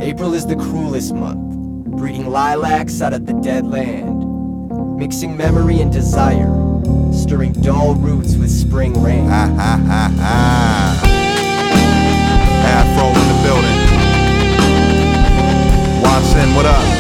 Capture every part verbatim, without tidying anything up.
April is the cruelest month, breeding lilacs out of the dead land, mixing memory and desire, stirring dull roots with spring rain. Ha ha ha ha. Afro in the building. Watson, what up?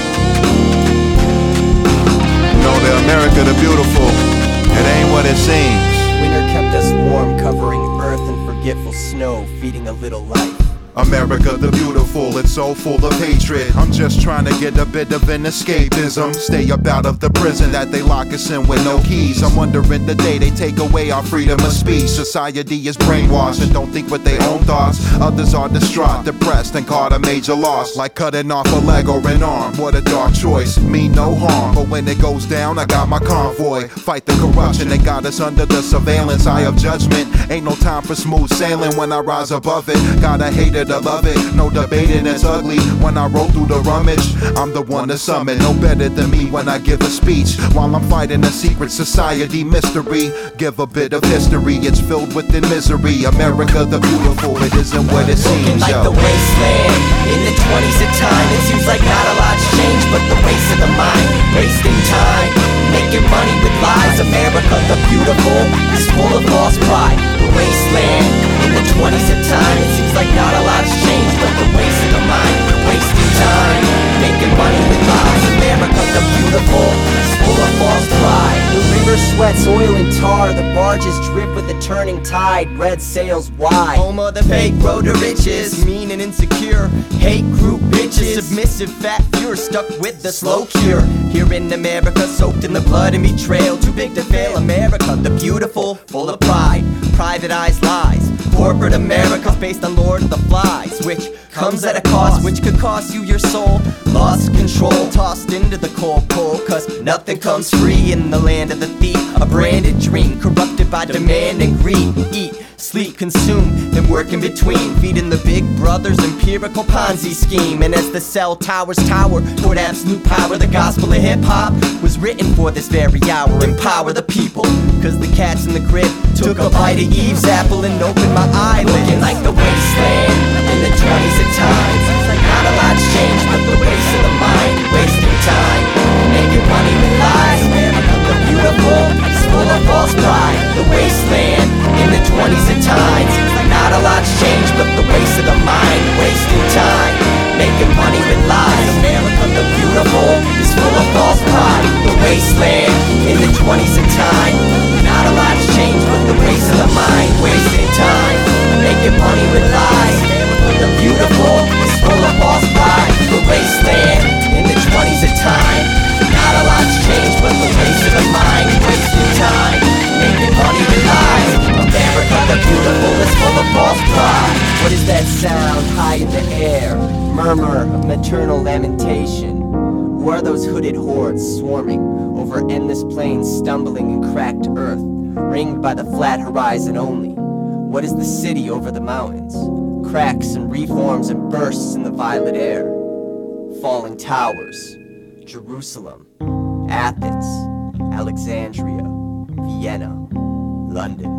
You know the America the beautiful, it ain't what it seems. Winter kept us warm, covering earth in forgetful snow, feeding a little life. America the beautiful, it's so full of hatred. I'm just trying to get a bit of an escapism. Stay up out of the prison that they lock us in with no keys. I'm wondering the day they take away our freedom of speech. Society is brainwashed and don't think with their own thoughts. Others are distraught, depressed, and caught a major loss, like cutting off a leg or an arm. What a dark choice, mean no harm, but when it goes down, I got my convoy. Fight the corruption, they got us under the surveillance eye of judgment. Ain't no time for smooth sailing when I rise above it. Gotta hate it, I love it, no debating it's ugly. When I roll through the rummage, I'm the one to summon. No better than me when I give a speech, while I'm fighting a secret society mystery. Give a bit of history, it's filled with the misery. America the beautiful, it isn't what it seems. Looking like yo. the wasteland in the twenties of time. It seems like not a lot's changed, but the waste of the mind, wasting time, making money with lies. America the beautiful is full of false pride. The wasteland in the twenties of time. It seems like not a lot's changed, but the waste of the mind, wasting time, making money with lies. America the beautiful is full of false pride. The river sweats oil and tar, the barges drip with the turning tide. Red sails wide, home of the fake road to riches, mean and insecure, hate group bitches, submissive fat pure, stuck with the slow cure. Here in America, soaked in the blood and betrayal, too big to fail. America the beautiful, full of pride, privatized lies. Corporate America's based on Lord of the Flies, which comes at a cost, which could cost you your soul. Lost control, tossed into the cold pole, cause nothing comes free in the land of the thief. A branded dream, corrupted by demand and greed. Eat, sleep, consume, then work in between, feeding the big brother's empirical Ponzi scheme. And as the cell towers tower toward absolute power, the gospel of hip-hop was written for this very hour. Empower the people, cause the cats in the crib took a bite of Eve's apple and opened my eyelids. Looking like the wasteland in the twenties of time. Seems like not a lot's changed, but the waste of the mind, wasting time, making money with lies. America the beautiful is full of false pride. The wasteland in the twenties of time. Seems like not a lot's changed, but the waste of the mind, wasting time, making money with lies. America the beautiful is full of false pride. The wasteland in the twenties of time. Not a lot's changed, but the waste of the mind, wasting time, making money with lies. America the beautiful is full of false pride. The wasteland in the twenties of time. Not a lot's changed, but the waste of the mind, wasting time, making money with lies. America the beautiful is full of false pride. What is that sound high in the air? Murmur of maternal lamentation. Who are those hooded hordes swarming over endless plains, stumbling in cracked earth, ringed by the flat horizon only? What is the city over the mountains? Cracks and reforms and bursts in the violet air. Falling towers, Jerusalem, Athens, Alexandria, Vienna, London.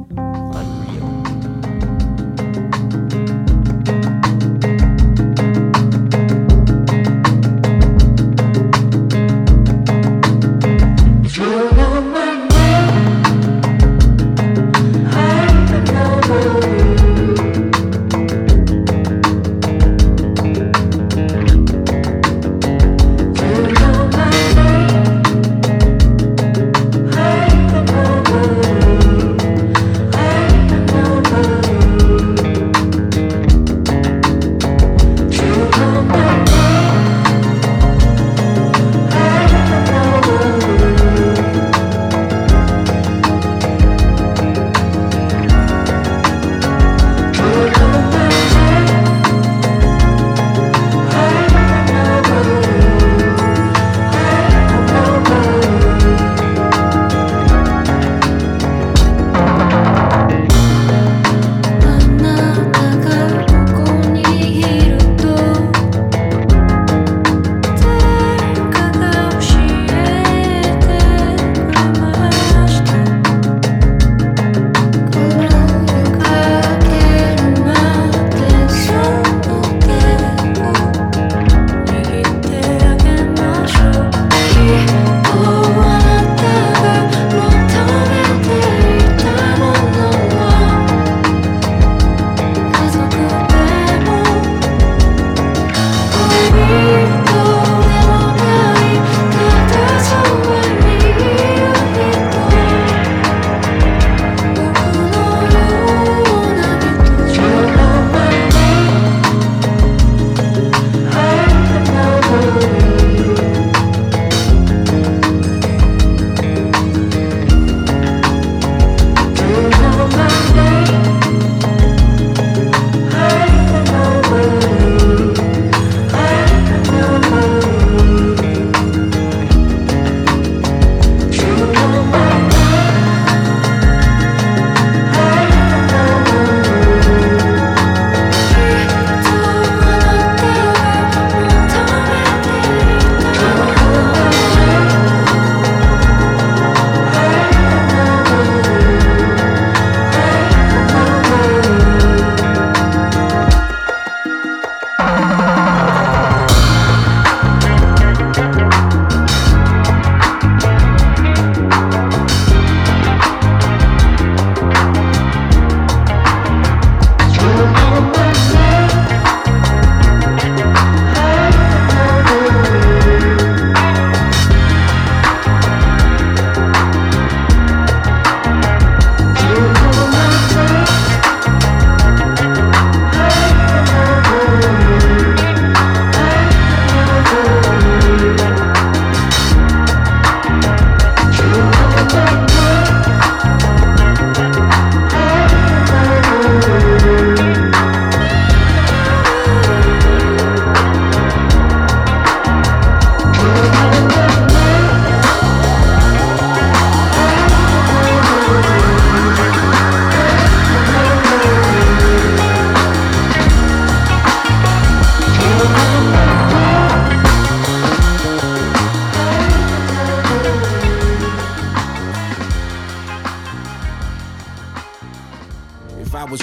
Unreal.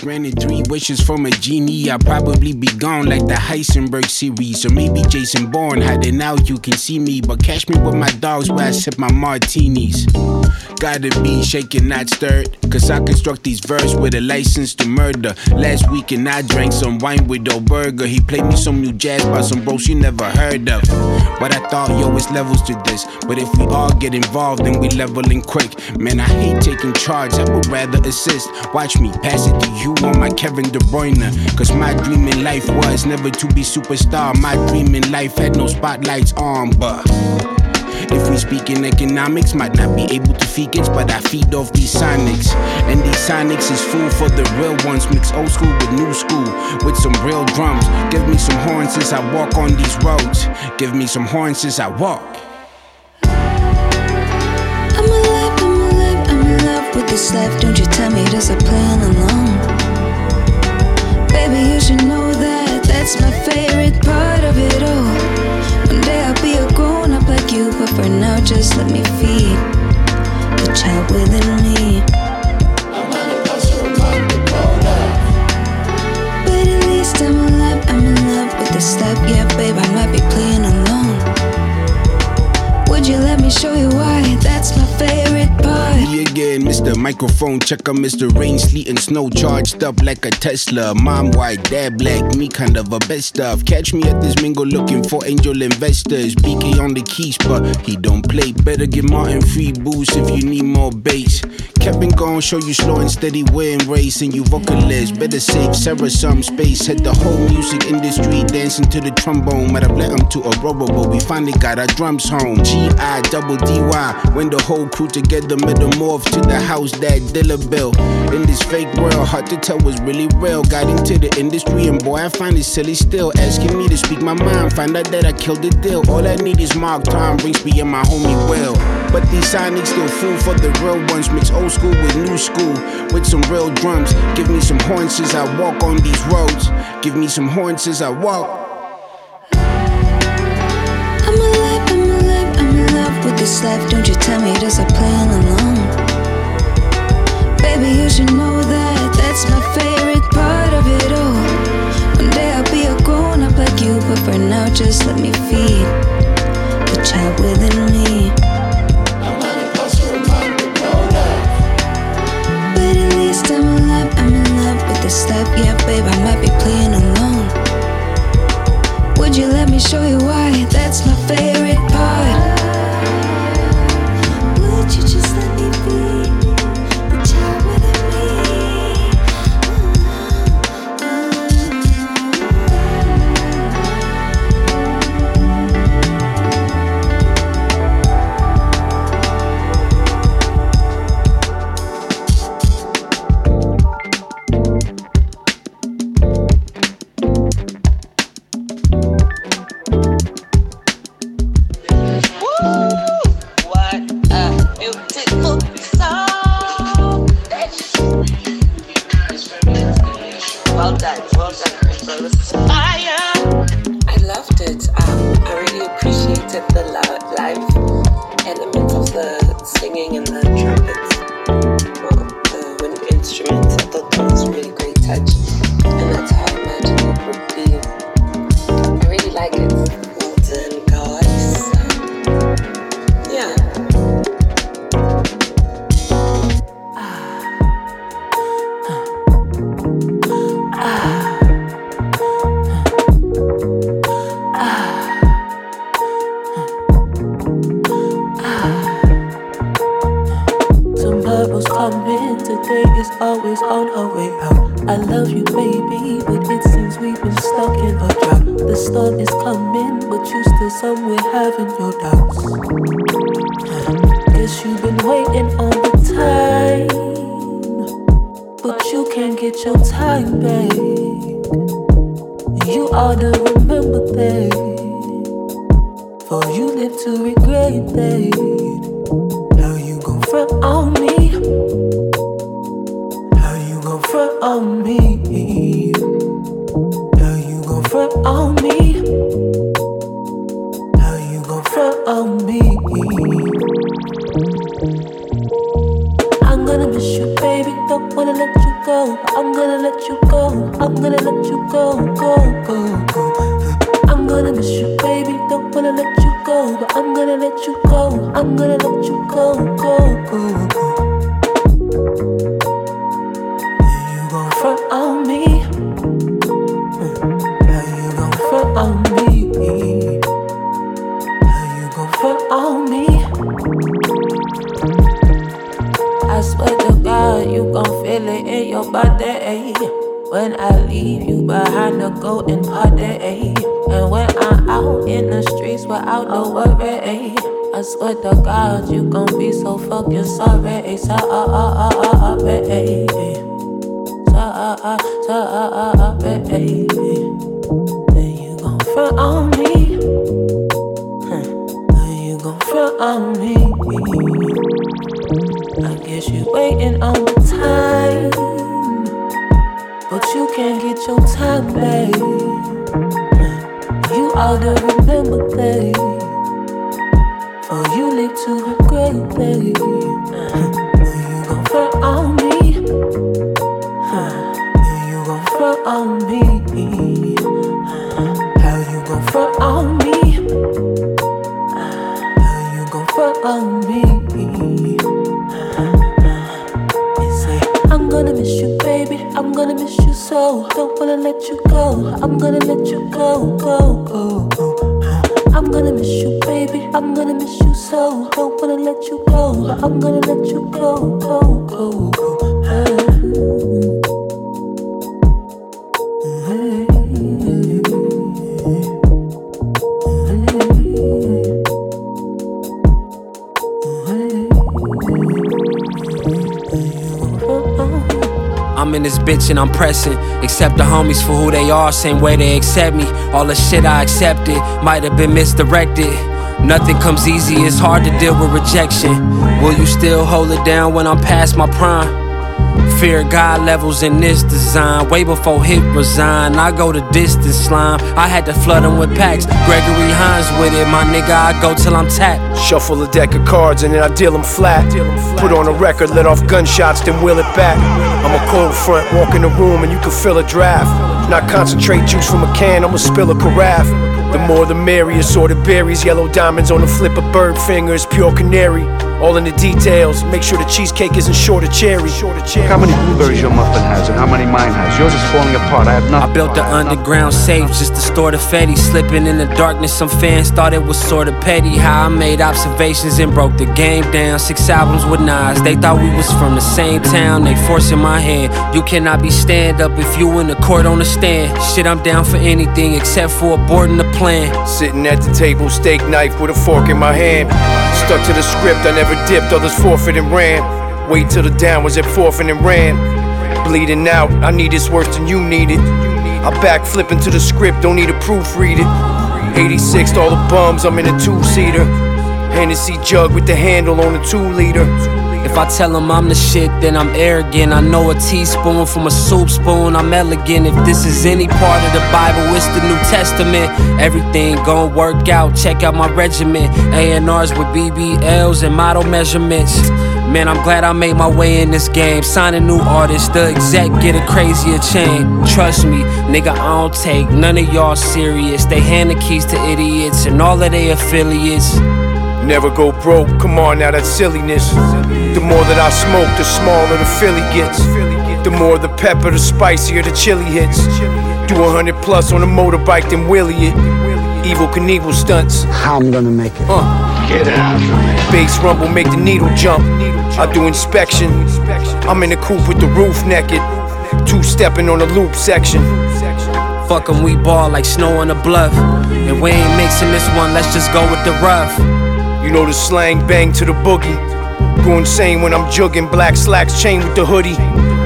Granted three wishes from a genie, I'll probably be gone like the Heisenberg series. Or maybe Jason Bourne, hiding out you can see me. But catch me with my dogs where I sip my martinis. Gotta be shaken, not stirred, cause I construct these verses with a license to murder. Last weekend I drank some wine with O'Burger. He played me some new jazz by some bros you never heard of. But I thought, yo, it's levels to this. But if we all get involved, then we leveling quick. Man, I hate taking charge, I would rather assist. Watch me pass it to you on my Kevin De Bruyne. Cause my dream in life was never to be superstar. My dream in life had no spotlights on, but if we speak in economics, might not be able to feed kids, but I feed off these sonics. And these sonics is food for the real ones. Mix old school with new school, with some real drums. Give me some horns as I walk on these roads. Give me some horns as I walk. I'm alive, I'm alive, I'm in love with this life. Don't you tell me there's a plan along. Baby, you should know that that's my favorite part of it all. One day I'll be a grown-up like you, but for now just let me feed the child within me. I'm on a poster about the grown-up. But at least I'm alive, I'm in love with this life. Yeah, babe, I might be playing alone. Would you let me show you why? That's my favorite part. Me again, Mister Microphone checker, Mister Rain, sleet and snow, charged up like a Tesla. Mom white, dad black, me kind of a best stuff. Catch me at this mingle looking for angel investors. B K on the keys, but he don't play. Better get Martin free boost if you need more bass. Kevin gon' show you slow and steady win race, and you vocalists better save Sarah some space. Hit the whole music industry dancing to the trombone. Might have led them to a rubber, but we finally got our drums home. G I double D Y, when the whole crew together metamorph to the house that Dilla built. In this fake world, hard to tell what's really real. Got into the industry and boy, I find it silly still. Asking me to speak my mind, find out that I killed the deal. All I need is Mark Tom, brings me and my homie Will. But these sonics still fool for the real ones. Mix old school with new school, with some real drums. Give me some horns as I walk on these roads. Give me some horns as I walk. I'm alive, I'm alive, I'm in love with this life. Don't you tell me there's a plan along. Baby, you should know that that's my favorite part of it all. One day I'll be a grown-up like you, but for now just let me feed the child within me. I'm on a poster about the grown-up. But at least I'm alive, I'm in love with this life. Yeah, babe, I might be playing alone. Would you let me show you why? That's my favorite part. Would you just let me be the child within gonna miss you, baby. Don't wanna let you go, but I'm gonna let you go. I'm gonna let you go, go, go, go. You gon' front on me? How you gon' front on me? How you gon' front on me? I swear to God, you gon' feel it in your body when I leave you behind to go and party. And when I'm out in the streets without no worry, I swear to God, you gon' be so fucking sorry. Sorry, sorry, sorry. Then you gon' front on me. Then you gon' front on me. I guess you waiting on the time, but you can't get your time back. You ought to remember that, or you live to regret that. You gon' front on me. You gon' front on me. How you gon' front on me? How you gon' front on me? I'm gonna miss you, baby. I'm gonna miss you so. Don't wanna let you go. I'm gonna let you go, go, go, go. I'm gonna miss you, baby. I'm gonna miss you so. Don't wanna let you go. I'm gonna let you go, go, go, go. I'm in this bitch and I'm pressing. Accept the homies for who they are, same way they accept me. All the shit I accepted might have been misdirected. Nothing comes easy, it's hard to deal with rejection. Will you still hold it down when I'm past my prime? Fear God levels in this design. Way before Hit resign, I go the distance slime. I had to flood them with packs. Gregory Hines with it, my nigga, I go till I'm tapped. Shuffle a deck of cards and then I deal them flat. Put on a record, let off gunshots, then wheel it back. I'm a cold front, walk in the room and you can feel a draft. Not concentrate juice from a can, I'ma spill a carafe. The more the merrier, assorted berries, yellow diamonds on the flip of bird fingers, pure canary. All in the details, make sure the cheesecake isn't short of cherry. How many blueberries your muffin has and how many mine has? Yours is falling apart, I have nothing. I built the underground safe just to store the Fetty. Slipping in the darkness, some fans thought it was sorta petty. How I made observations and broke the game down. Six albums with Nas, they thought we was from the same town. They forcing my hand, you cannot be stand up if you in the court on the stand. Shit, I'm down for anything except for aborting the plan. Sitting at the table, steak knife with a fork in my hand. Stuck to the script, I never dipped, others forfeit and ran. Wait till the down was at forfeit and ran. Bleeding out, I need this worse than you need it. I back flipping to the script, don't need to proofread it. eighty-six, all the bums, I'm in a two-seater. Hennessy jug with the handle on a two-liter. If I tell them I'm the shit, then I'm arrogant. I know a teaspoon from a soup spoon, I'm elegant. If this is any part of the Bible, it's the New Testament. Everything gon' work out, check out my regiment. A and R's with B B Ls and model measurements. Man, I'm glad I made my way in this game. Signing new artists, the exec get a crazier chain. Trust me, nigga, I don't take none of y'all serious. They hand the keys to idiots and all of their affiliates. Never go broke, come on now, that's silliness. The more that I smoke, the smaller the Philly gets. The more the pepper, the spicier the chili hits. Do a hundred plus on a motorbike, then wheelie it. Evil Knievel stunts. How I'm gonna make it? Uh. Get out. Bass rumble, make the needle jump. I do inspection. I'm in the coupe with the roof naked. Two-stepping on the loop section. Fuck 'em, we ball like snow on the bluff. And we ain't mixing this one, let's just go with the rough. You know the slang, bang to the boogie. Go insane when I'm jugging, black slacks, chain with the hoodie.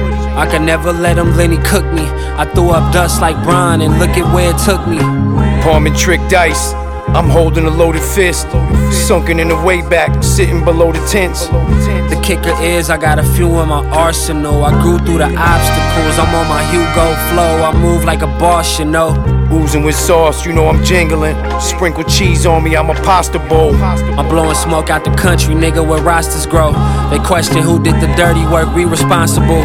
I could never let him Lenny cook me. I threw up dust like Brian and look at where it took me. Palm and trick dice, I'm holding a loaded fist. Sunken in the way back, sitting below the tents. The kicker is I got a few in my arsenal. I grew through the obstacles, I'm on my Hugo flow. I move like a boss, you know. Oozing with sauce, you know I'm jingling. Sprinkle cheese on me, I'm a pasta bowl. I'm blowing smoke out the country, nigga, where rosters grow. They question who did the dirty work, we responsible.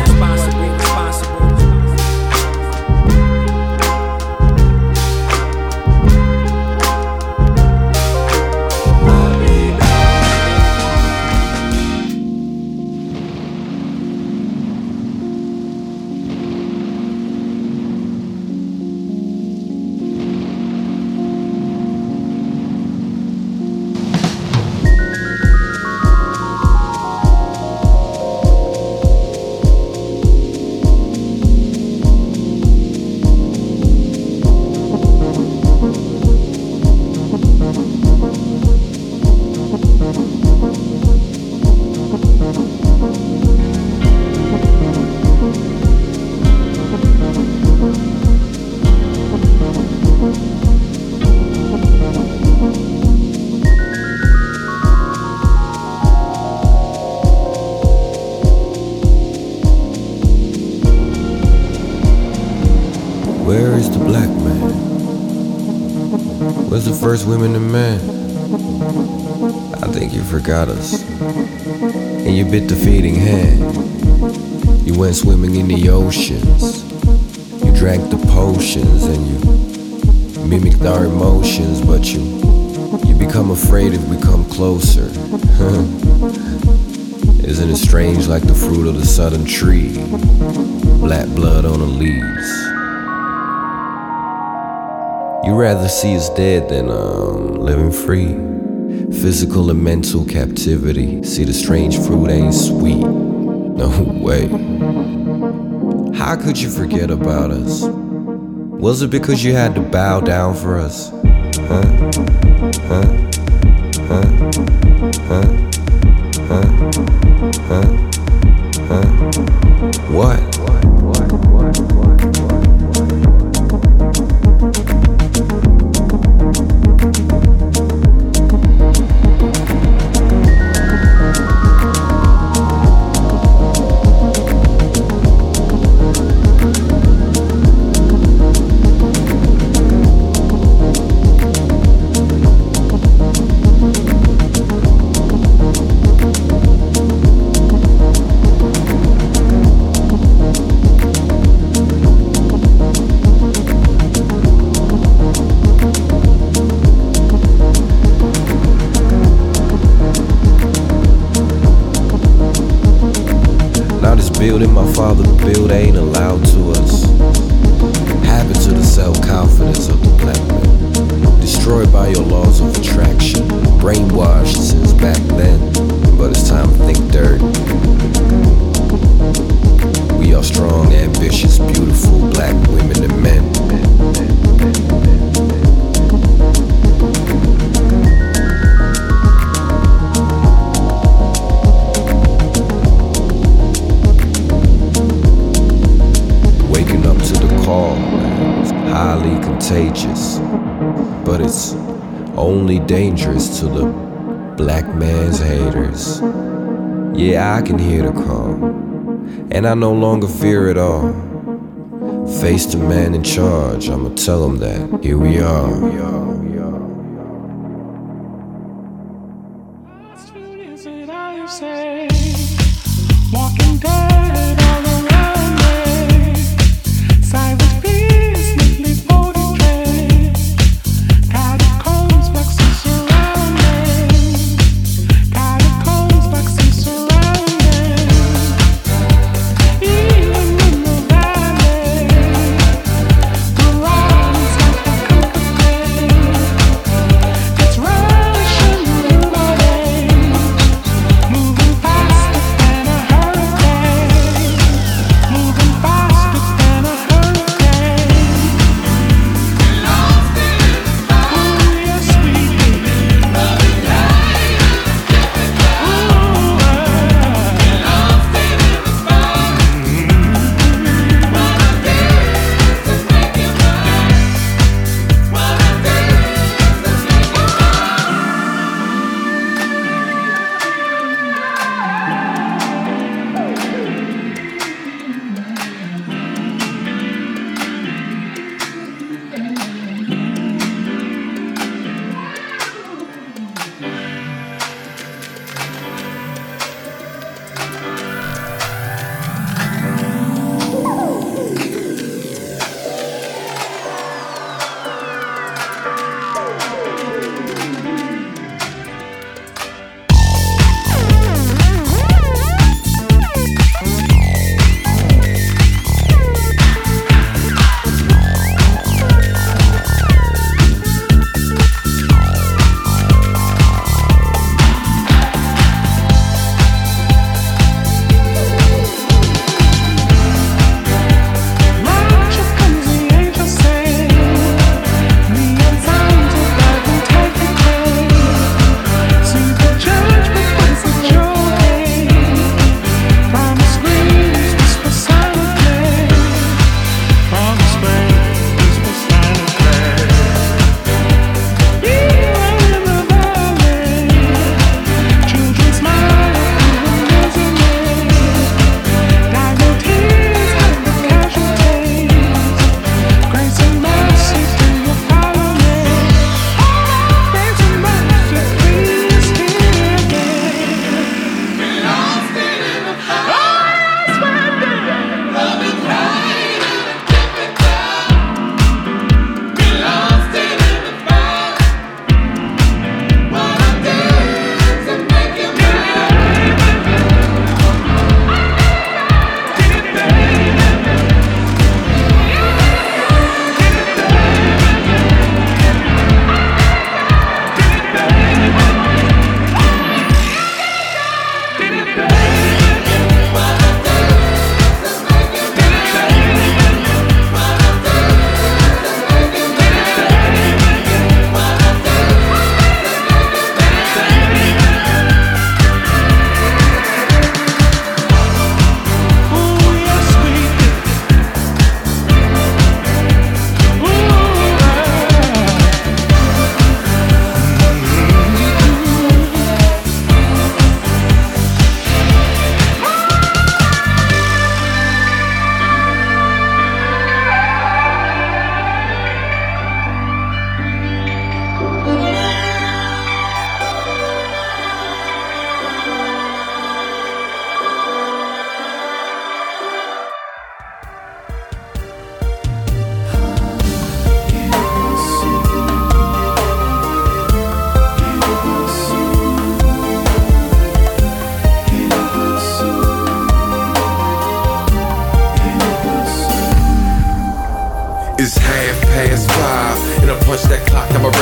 Where's the first women and men? I think you forgot us. And you bit the feeding hand. You went swimming in the oceans. You drank the potions and you mimicked our emotions, but you you become afraid if we come closer. Isn't it strange, like the fruit of the southern tree? Black blood on the leaves. You rather see us dead than um, living free. Physical and mental captivity. See, the strange fruit ain't sweet. No way. How could you forget about us? Was it because you had to bow down for us? Huh? Huh? Huh? Huh? Huh? Huh? Huh? What? Building my father built ain't allowed to us. Happened to the self-confidence of the black man. Destroyed by your laws of attraction. Brainwashed since back then. But it's time to think dirt. We are strong, ambitious, beautiful black women and men. Highly contagious, but it's only dangerous to the black man's haters. Yeah, I can hear the call, and I no longer fear it all. Face the man in charge, I'ma tell him that here we are. Here we are. Walking dead all around me. Silent bees neatly portrayed. Catacombs, flexing surrounding. Catacombs, flexing surrounding. Even in the valley, the lines like a coconut.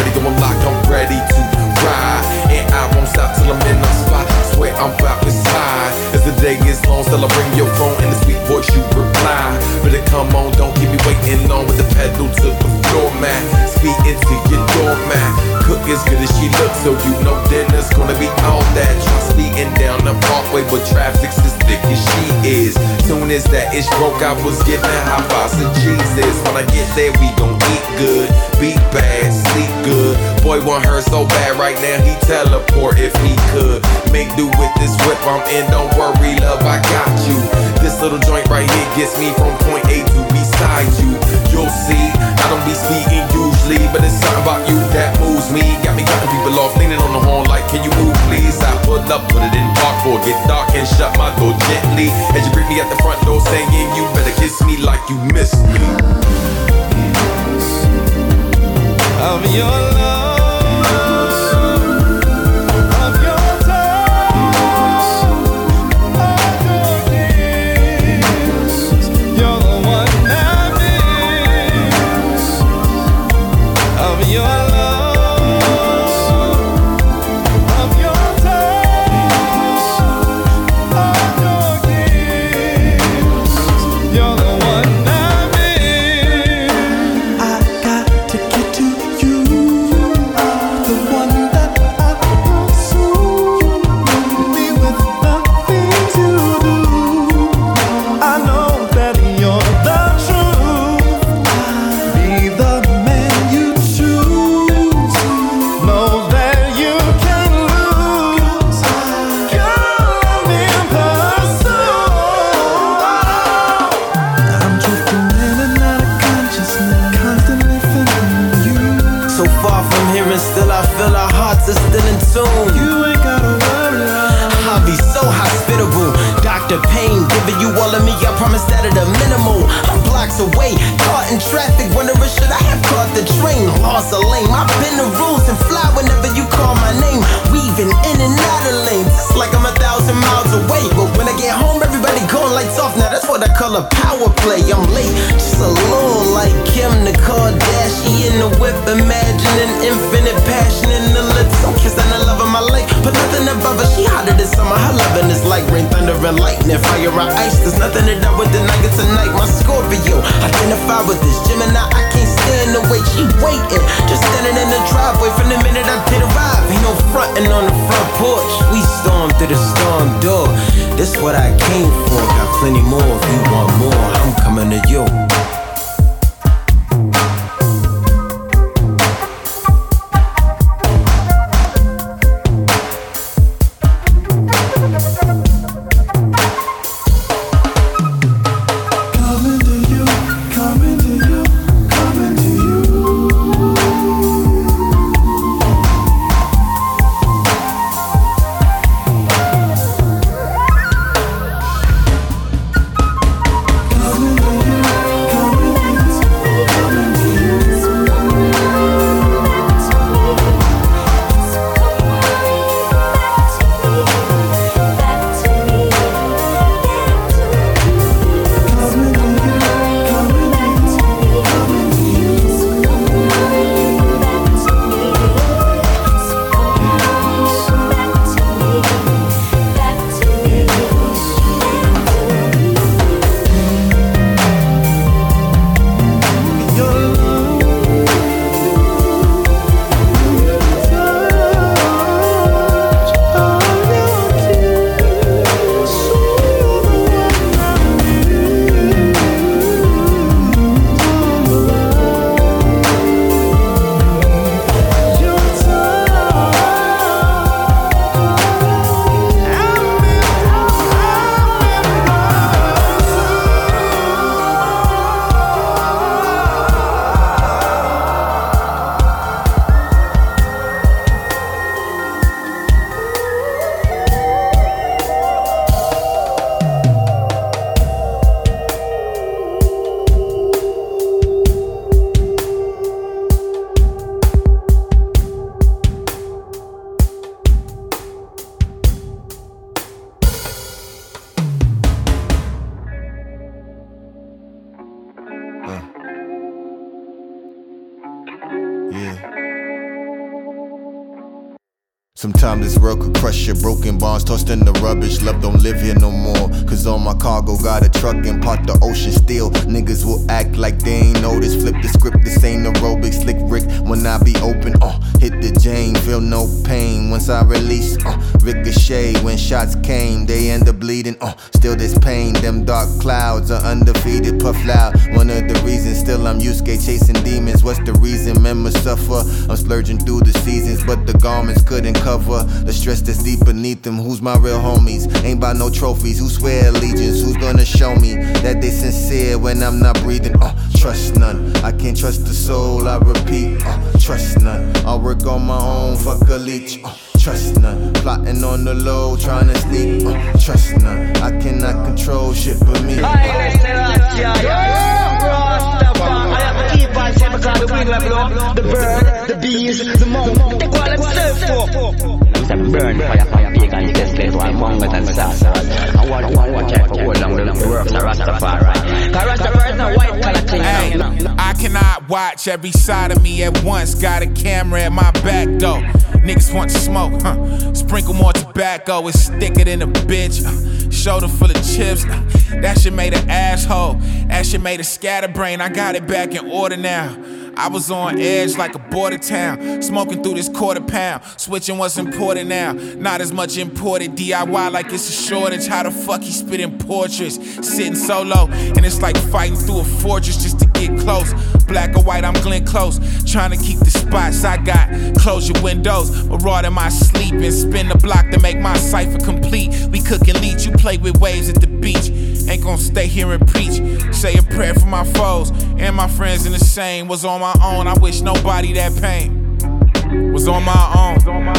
ready, go I'm locked, I'm ready to ride. And I won't stop till I'm in the spot. Swear I'm about to slide. As the day is long, still I bring your phone and the sweet voice you reply. Better come on, don't keep me waiting on with the pedal to the floor, man. Speed into your doormat. Cook as good as she looks, so you know dinner's gonna be all that. Try speeding down the parkway, but traffic's as thick as she is. Soon as that ish broke, I was getting high fives and Jesus. When I get there, we gon' eat good, be bad, sleep good. Boy want her so bad right now, he teleport if he could. Make do with this whip I'm in, don't worry, love, I got you. This little joint right here gets me from point A to beside you. You'll see, I don't be speaking usually, but it's something about you that moves me. Got me cutting people off, leaning on the horn like, can you move please? I pull up, put it in park for get dark and shut my door gently. As you greet me at the front door saying you better kiss me like you miss me. Of your love. Coming to you. Sometimes this world could crush your broken bonds, tossed in the rubbish. Love don't live here no more. Cause all my cargo got a truck and part the ocean still. Niggas will act like they ain't noticed. Flip the script, this ain't aerobic. Slick Rick when I be open. Uh, hit the Jane, feel no pain once I release. Uh, ricochet when shots came, they end up bleeding. Uh, still this pain, them dark clouds are undefeated. Puff loud, one of the reasons. Still I'm Yusuke chasing demons. What's the reason? Members suffer. I'm splurging through the seasons, but the garments couldn't cover the stress that's deep beneath them. Who's my real homies? Ain't by no trophies. Who swear allegiance? Who's gonna show me that they sincere when I'm not breathing? Uh, trust none. I can't trust the soul. I repeat. Uh, trust none. I'll work on my own. Fuck a leech. Uh, trust none. Plotting on the low, trying to sneak. Uh, trust none. I cannot control shit but me. The bird, the bees, the monk, they call themselves for. Them burn fire for pagan tested while Mongols and sorcerers. I want to watch out for all long the works of Rastafari. Cause Rastafari is not white collar clean. Hey, I cannot watch every side of me at once. Got a camera at my back though. Niggas want to smoke, huh? Sprinkle more tobacco, it's thicker than a bitch. Uh, shoulder full of chips, uh, that shit made an asshole. That shit made a scatterbrain. I got it back in order now. I was on edge like a border town, smoking through this quarter pound. Switching what's important now, not as much imported. D I Y like it's a shortage. How the fuck he spitting portraits, sitting solo, and it's like fighting through a fortress just to get close. Black or white, I'm Glenn Close, trying to keep the spots I got. Close your windows, maraud in my sleep and spin the block to make my cipher complete. We cooking leech, you play with waves at the beach. Ain't gon' stay here and preach. Say a prayer for my foes and my friends in the same. Was on my own, I wish nobody that pain. Was on my own.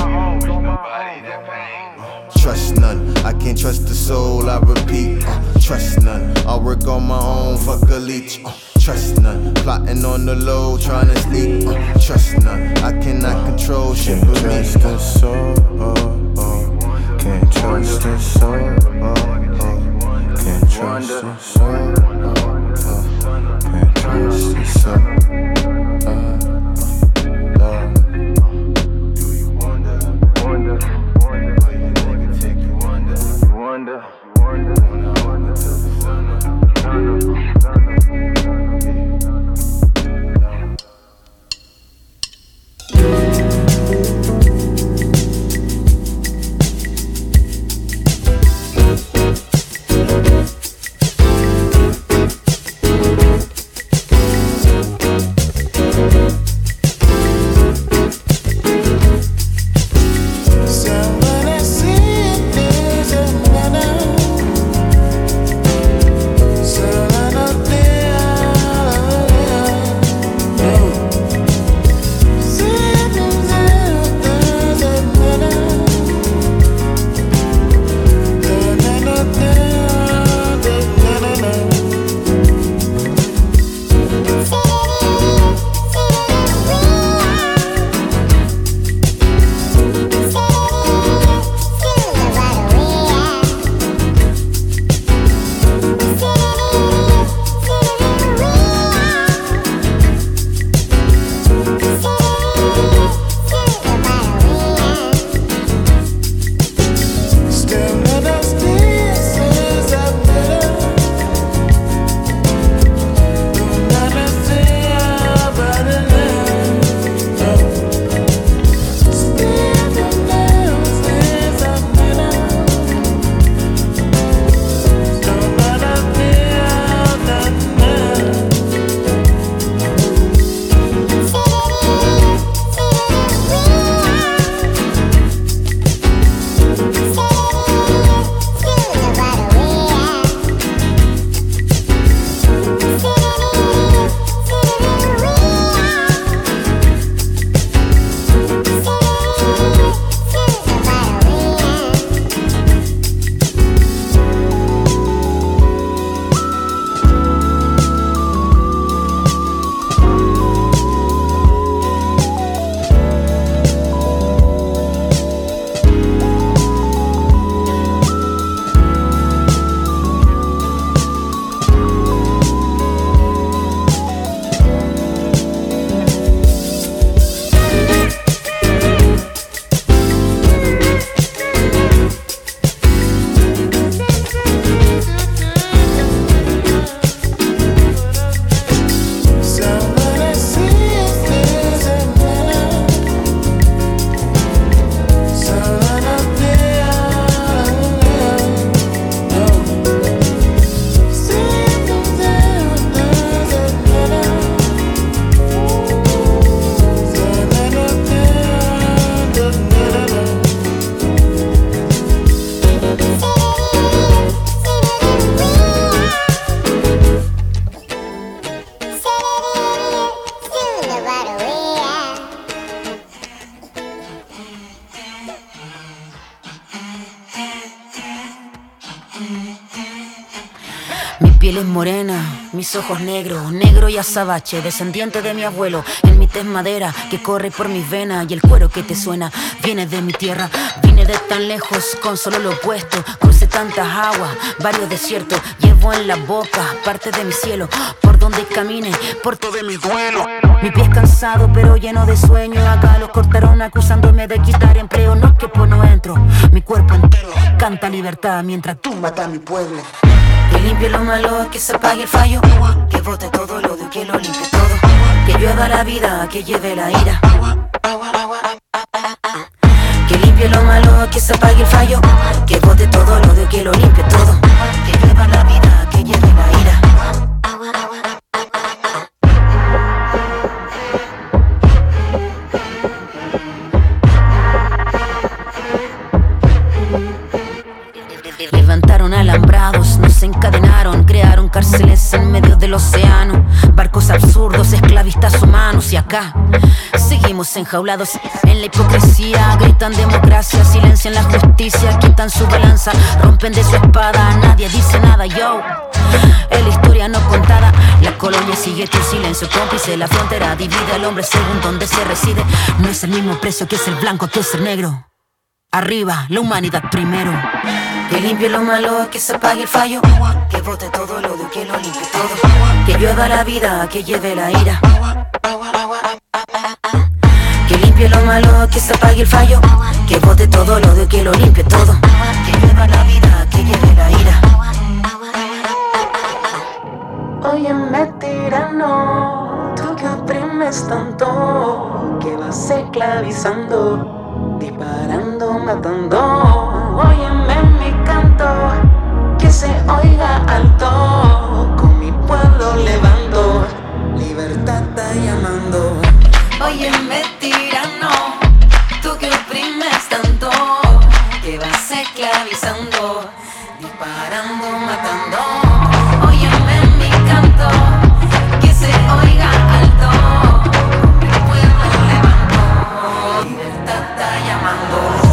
Trust none, I can't trust the soul, I repeat. Uh, trust none, I'll work on my own, fuck a leech. Uh, trust none, plotting on the low, trying to sneak. Uh, trust none, I cannot control shit but me. Can't trust the soul, oh, oh. Can't trust the soul, oh, oh. Can't trust the soul, oh, oh. Can't trust the soul, oh. Wonder, wonder, wonder till the sun up, sun up, sun up. piel es morena, mis ojos negros, negro y azabache, descendiente de mi abuelo. En mi tez madera que corre por mis venas y el cuero que te suena viene de mi tierra. Vine de tan lejos con solo lo opuesto, crucé tantas aguas, varios desiertos. Llevo en la boca parte de mi cielo, por donde camine, por todo mi duelo. Mi pie es cansado pero lleno de sueño. Acá los cortaron acusándome de quitar empleo. No es que por no entro, mi cuerpo entero canta libertad mientras tú matas a mi pueblo. Que limpie lo malo, que se apague el fallo, que bote todo lo de que lo limpie todo, que llueva la vida, que lleve la ira. Que limpie lo malo, que se apague el fallo, que bote todo lo de que lo limpie todo, que llueva la vida, que lleve la ira. Levantaron alambrados, nos encadenaron, crearon cárceles en medio del océano, barcos absurdos, esclavistas humanos. Y acá seguimos enjaulados en la hipocresía. Gritan democracia, silencian la justicia, quitan su balanza, rompen de su espada. Nadie dice nada, yo. Es la historia no contada. La colonia sigue tu silencio cómplice. La frontera divide al hombre según donde se reside. No es el mismo precio que ser blanco que ser negro. Arriba, la humanidad primero. Que limpie lo malo, que se apague el fallo, que bote todo lo de que lo limpie todo, que llueva la vida, que lleve la ira. Que limpie lo malo, que se apague el fallo, que bote todo lo de que lo limpie todo, que llueva la vida, que lleve la ira. Óyeme tirano, tú que oprimes tanto, que vas esclavizando, disparando, matando. Óyeme mi canto, que se oiga alto, con mi pueblo levanto, libertad está llamando. Óyeme tirano, tú que oprimes tanto, que vas esclavizando, disparando, matando. Óyeme mi canto, que se oiga alto, con mi pueblo levanto, libertad está llamando.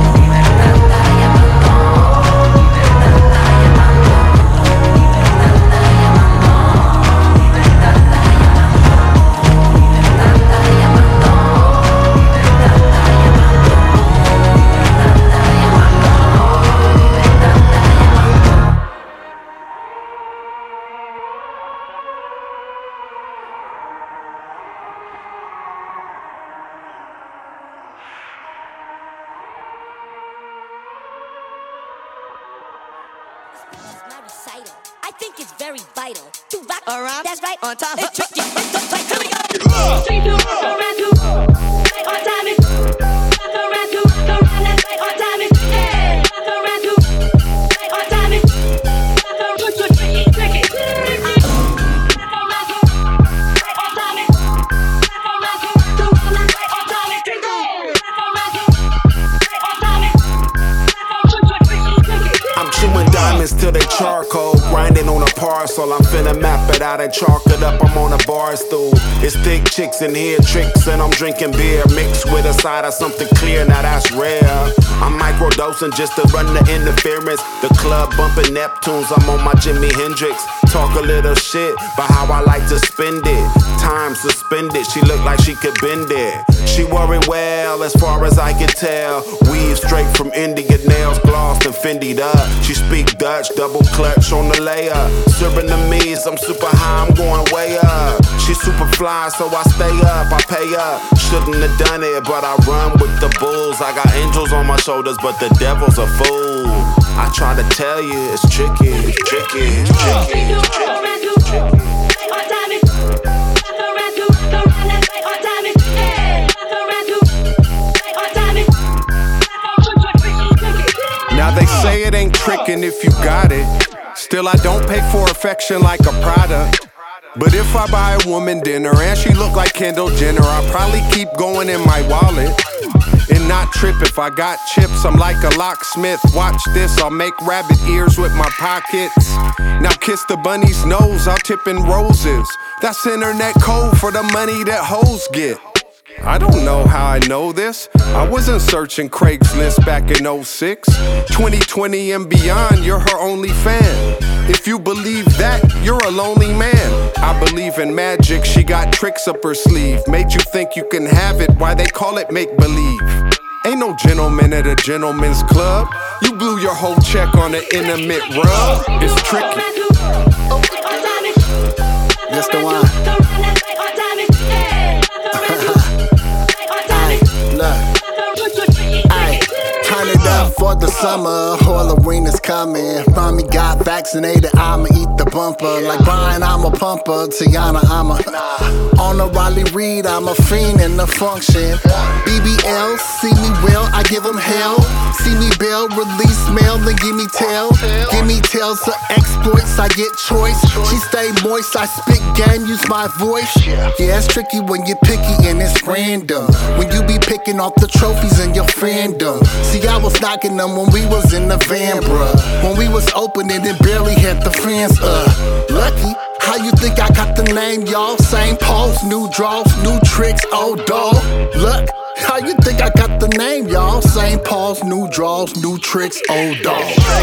I think it's very vital to rock around. That's right. On time. It's tricky. It's like, here we go. Straight to rock around to right on time. It's rock around to the round that's right on time. It's yeah. Rock around to right on time. It's rock around to tricky, tricky, tricky. Rock around to right on time. It's rock around to the round that's right on time. It's tricky. Rock around to right on time. It's rock around to tricky, tricky. I'm chewing diamonds till they charcoal, grinding on a parcel. I'm finna map it out and chalk it up. I'm on a bar stool. It's thick chicks in here, tricks, and I'm drinking beer mixed with a side of something clear. Now that's rare. I'm microdosing just to run the interference. The club bumping Neptunes. I'm on my Jimi Hendrix. Talk a little shit, but how I like to spend it. Time suspended. She look like she could bend it. She wore it well, as far as I can tell. Weave straight from India, nails glossed and Fendi'd up. She speak Dutch, double clutch on the layup. Serving the me's, I'm super high, I'm going way up. She super fly, so I stay up, I pay up. Shouldn't have done it, but I run with the bulls. I got angels on my shoulders, but the devil's a fool. I try to tell you, it's tricky, it's tricky, it's tricky, it's tricky, it's tricky. Now they say it ain't trickin' if you got it. Still I don't pay for affection like a product. But if I buy a woman dinner and she look like Kendall Jenner, I'll probably keep going in my wallet and not trip if I got chips. I'm like a locksmith. Watch this, I'll make rabbit ears with my pockets. Now kiss the bunny's nose, I'll tip in roses. That's internet code for the money that hoes get. I don't know how I know this. I wasn't searching Craigslist back in oh six. twenty twenty and beyond, you're her only fan. If you believe that, you're a lonely man. I believe in magic, she got tricks up her sleeve. Made you think you can have it, why they call it make-believe. Ain't no gentleman at a gentleman's club. You blew your whole check on an intimate rub. It's tricky. That's the one. Turn it up for the summer, Halloween is coming. Mommy got vaccinated, I'ma eat the bumper. Like Brian, I'm a pumper. Tiana, I'm a on a Raleigh Reed, I'm a fiend in the function. B B L, see me well, I give them hell. See me bail, release mail, then give me tail. Give me tails of exploits, I get choice. She stay moist, I spit game, use my voice. Yeah, it's tricky when you're picky and it's random. When you be picking off the trophies in your fandom. See, I was knocking them when we was in the van, bruh. When we was opening and barely had the fans, uh. Lucky, how you think I got the name, y'all? Same pose, new draws, new tricks, old dog. Look, how you think I got the name, y'all? Same pose, new draws, new tricks, old dog.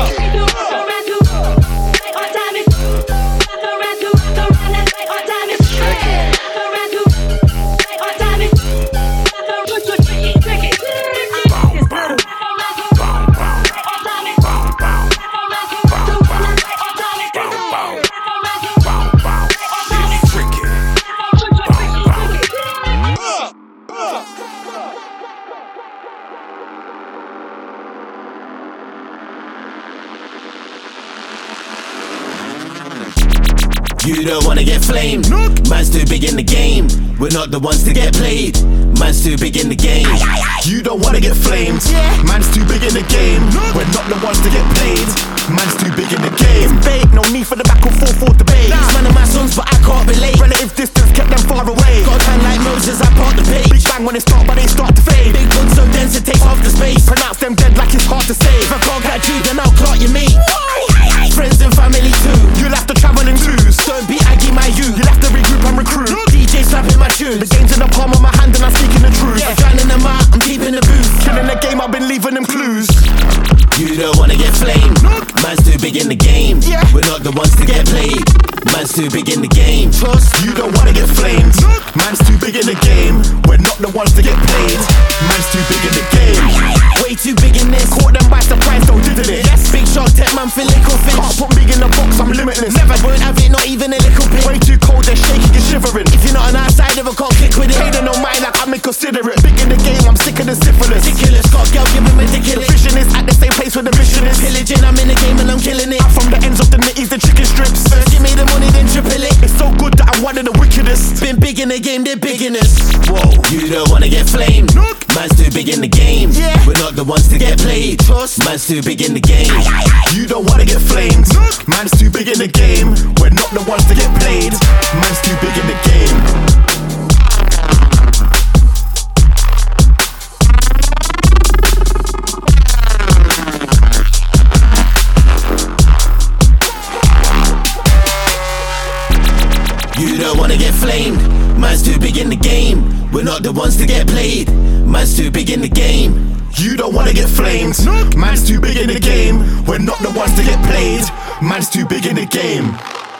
You don't wanna get flamed. Man's too big in the game. We're not the ones to get played. Man's too big in the game. You don't wanna get flamed. Man's too big in the game. We're not the ones to get played. Man's too big in the game. It's fake, no need for the back and forth for debate. These man are my sons, but I can't relate. Relative distance kept them far away. Got a time like Moses, I part the page. Big bang when it start, but they start to fade. Big guns so dense it takes half the space. Pronounce them dead like it's hard to say. If I can't catch you, then I'll clock your mate. Friends and family too. You'll have to travel in twos. Don't be Aggie my you. You'll have to regroup and recruit. D J slapping my tunes. The game's in the palm of my hand and I'm speaking the truth. Yeah, drowning them out, I'm deep in the booth. Killing the game, I've been leaving them clues. You don't wanna get flamed. Man's too big in the game. Yeah. We're not the ones to get played. Man's too big in the game. Trust, you don't wanna get flamed. Man's too big in the game. We're not the ones to get played. Man's too big in the game. Way too big in this. Caught them by surprise, though, didn't it? Yes, big shot, tech man for little fish. Can't put me in the box, I'm limitless. Never won't have it, not even a little bit. Way too cold, they're shaking and shivering. If you're not on our side, never can't click with it. Hey, they don't mind, like I'm inconsiderate. Big in the game, I'm sicker than syphilis. Ridiculous, got girl, give him ridiculous. The vision is at the same place where the mission is. Pillaging, I'm in the game and I'm killing it. I'm from the ends of the nitties, the chicken strips. First give me the money, then triple it. It's so good that I'm one of the wickedest. Been big in the game, they're big in us. Whoa, you don't wanna get flamed. Nope. Man's too big in the game. Yeah. We're not the ones to get played. Trust. Man's too big in the game. You don't wanna get flamed. Nope. Man's too big in the game. We're not the ones to get played. Man's too big in the game. You don't wanna get flamed. Man's too big in the game. We're not the ones to get played. Man's too big in the game. You don't wanna get flamed. Nope. Man's too big in the game. We're not the ones to get played. Man's too big in the game.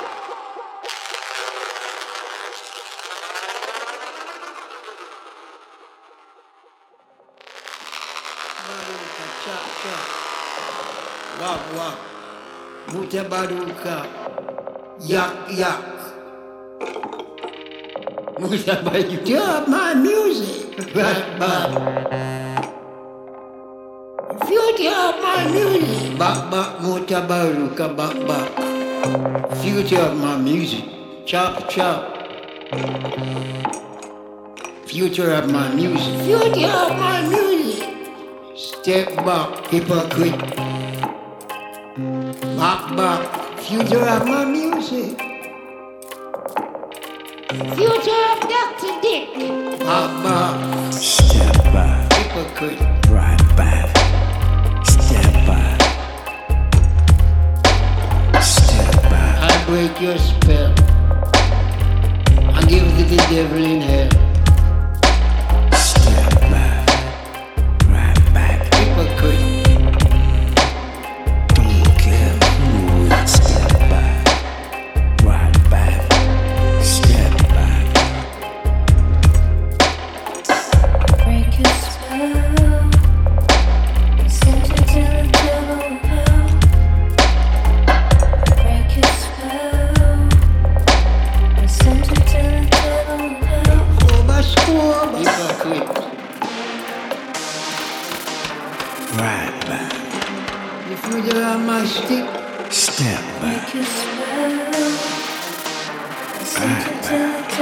Wap wap, mutabaruka, yak yak. Mutabaruka, you have my music. Bap bap. Future of my music. Bap bap, mutabaruka, bap bap. Future of my music. Chop chop. Future of my music. Future of my music. Step back, hypocrite. Back back, future of my music. Future of Doctor Dick. Back back. Step back. Hypocrite. Right back. Step back. Step back. I break your spell. I give it to the devil in hell. Right back. If you there on my stick, Step back. Right back.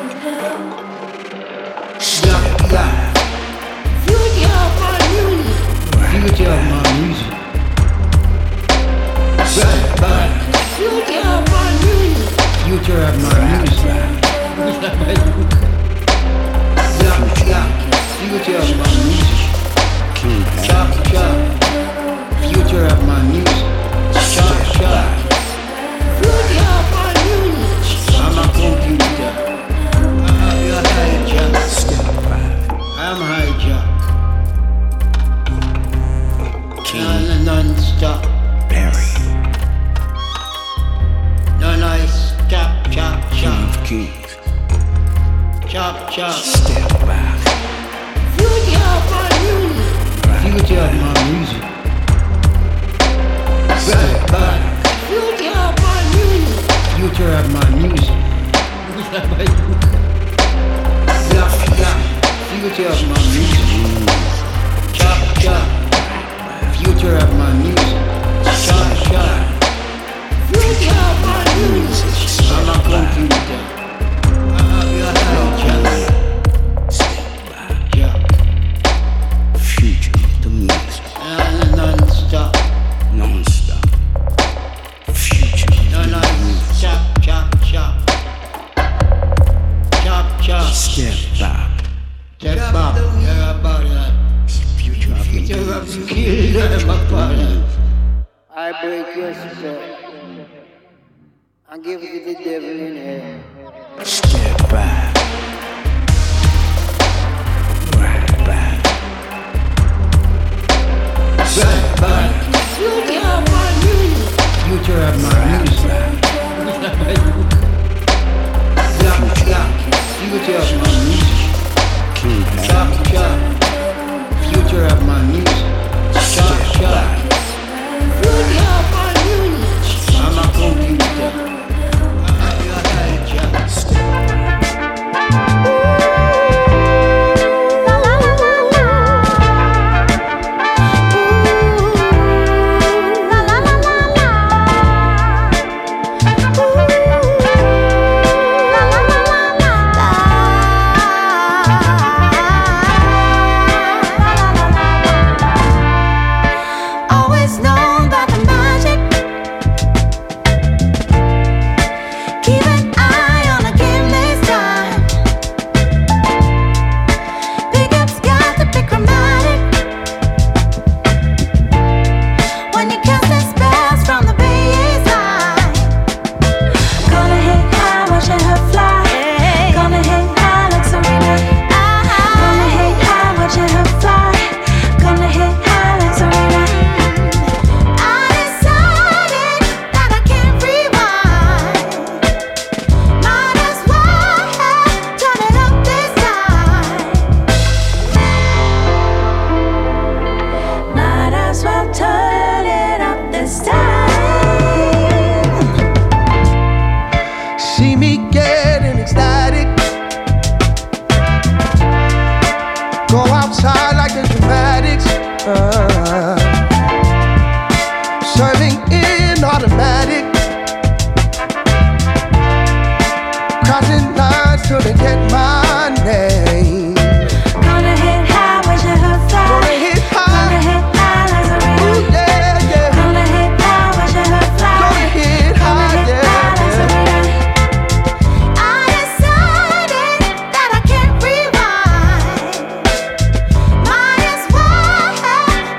yeah, yeah. Future of my music. Future of my music. Right back. Future of my music. Future of my music. Yeah, yeah. Future of my music. Chop, chop. Future of my music. Chop, chop. Future of my music. I'm a computer. I'm hijack. I'm hijack. Non, non-stop. Barry. No nice. Chop, chop, chop. Keys. Chop, chop. Step back. Future of my music. Future of my music. Right back. Future of my music. Future of my music. Yeah, yeah. Future of my music. Chop, chop. Future of my music. Chop, chop. Future of my music. I'm a computer. I'm a hijack. Yeah. Future of the music. Non- Non-stop. Non-stop. Future of No, the no, music. chop, chop, chop. Chop, chop. Step back. Step back. Yeah, about that. Future of the Future music. of the kill them about that. I break your spirit. I give it to the devil in hell. Step back. Right back. Right back. Future of my music. Future of my music. Yeah, yeah. Future of my music. Chop, chop. Future of my music. Chop, chop. Future of my music. I'm a computer. I'm a hijack. Always known about the magic. Keep an eye on the game this time. Pickup's got to be chromatic. When you cast the spells from the baseline. Gonna hit high, watching her fly. Gonna hit high like Serena. Gonna hit high, watching her fly. Gonna hit high like Serena. I decided that I can't rewind. Might as well turn it up this time. Might as well turn it up this time. See me getting ecstatic. Go outside like the dramatics. Uh, serving in automatic. Crossing lines till they get my name. Gonna hit high, watching her fly. Gonna hit high. Gonna hit high like Serena. Ooh, yeah, yeah. Gonna hit high, watching her fly. Gonna hit Gonna high, hit yeah, high like yeah. Serena. I decided that I can't rewind. Might as well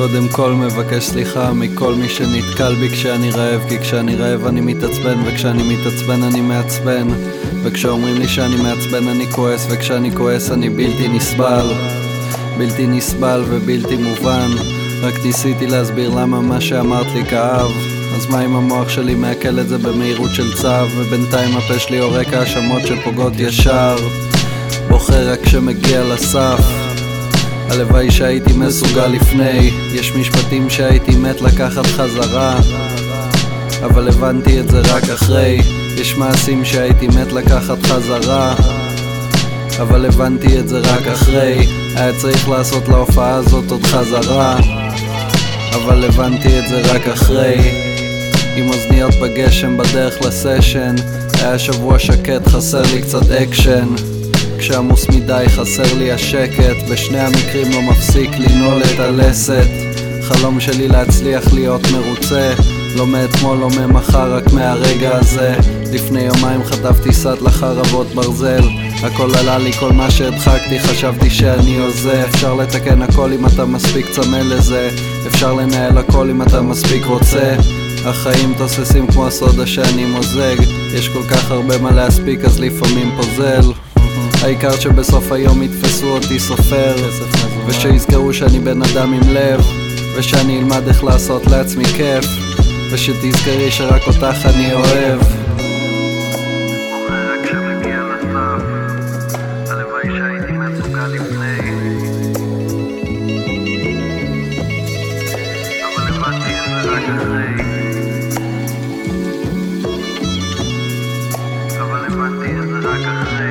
קודם כל מבקש סליחה מכל מי שנתקל בי כשאני רעב, כי כשאני רעב אני מתעצבן, וכשאני מתעצבן אני מעצבן, וכשאומרים לי שאני מעצבן אני כועס, וכשאני כועס אני בלתי נסבל, בלתי נסבל ובלתי מובן. רק ניסיתי להסביר למה מה שאמרת לי כאב, אז מה אם המוח שלי מעכל את זה במהירות של צו, ובינתיים הפה שלי עורק האשמות שפוגעות ישר, בוחר רק כשמגיע לסף. הלוואי שהייתי מסוגל לפני, יש משפטים שהייתי מת לקחת חזרה, אבל הבנתי את זה רק אחרי. יש מעשים שהייתי מת לקחת חזרה, אבל הבנתי את זה רק אחרי. היה צריך לעשות להופעה הזאת עוד חזרה, אבל הבנתי את זה רק אחרי. עם אוזניות בגשם בדרך לסשן, היה שבוע שקט, חסר לי קצת אקשן. כשעמוס מדי חסר לי השקט, בשני המקרים לא מפסיק לנעול את הלסת. חלום שלי להצליח להיות מרוצה, לא מאתמול לא ממחר רק מהרגע הזה. לפני יומיים חטפתי סט לחרבות ברזל, הכל עלה לי כל מה שהדחקתי, חשבתי שאני הוזה. אפשר לתקן הכל אם אתה מספיק צמא לזה, אפשר לנהל הכל אם אתה מספיק רוצה. החיים תוססים כמו הסודה שאני מוזג, יש כל כך הרבה מה להספיק אז לפעמים פוזל. העיקר שבסוף היום יתפסו אותי סופר, ושיזכרו שאני בן אדם עם לב, ושאני אלמד איך לעשות לעצמי כיף, ושתזכרי שרק אותך אני אוהב. אבל הבנתי את זה רק אחרי